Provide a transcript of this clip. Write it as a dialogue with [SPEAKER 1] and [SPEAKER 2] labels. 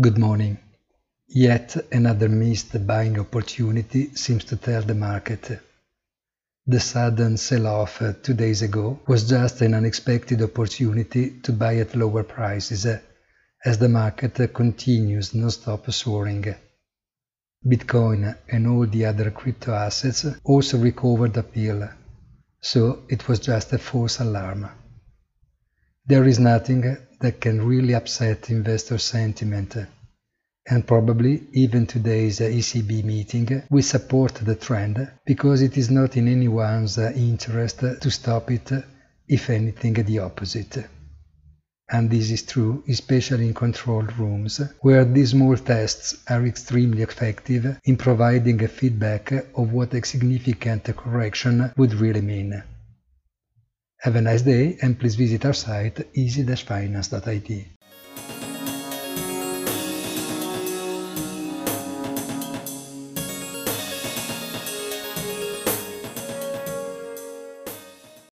[SPEAKER 1] Good morning. Yet another missed buying opportunity seems to tell the market. The sudden sell-off 2 days ago was just an unexpected opportunity to buy at lower prices, as the market continues non-stop soaring. Bitcoin and all the other crypto assets also recovered appeal, so it was just a false alarm. There is nothing that can really upset investor sentiment, and probably even today's ECB meeting will support the trend, because it is not in anyone's interest to stop it, if anything the opposite. And this is true especially in controlled rooms, where these small tests are extremely effective in providing a feedback of what a significant correction would really mean. Have a nice day, and please visit our site easy-finance.it.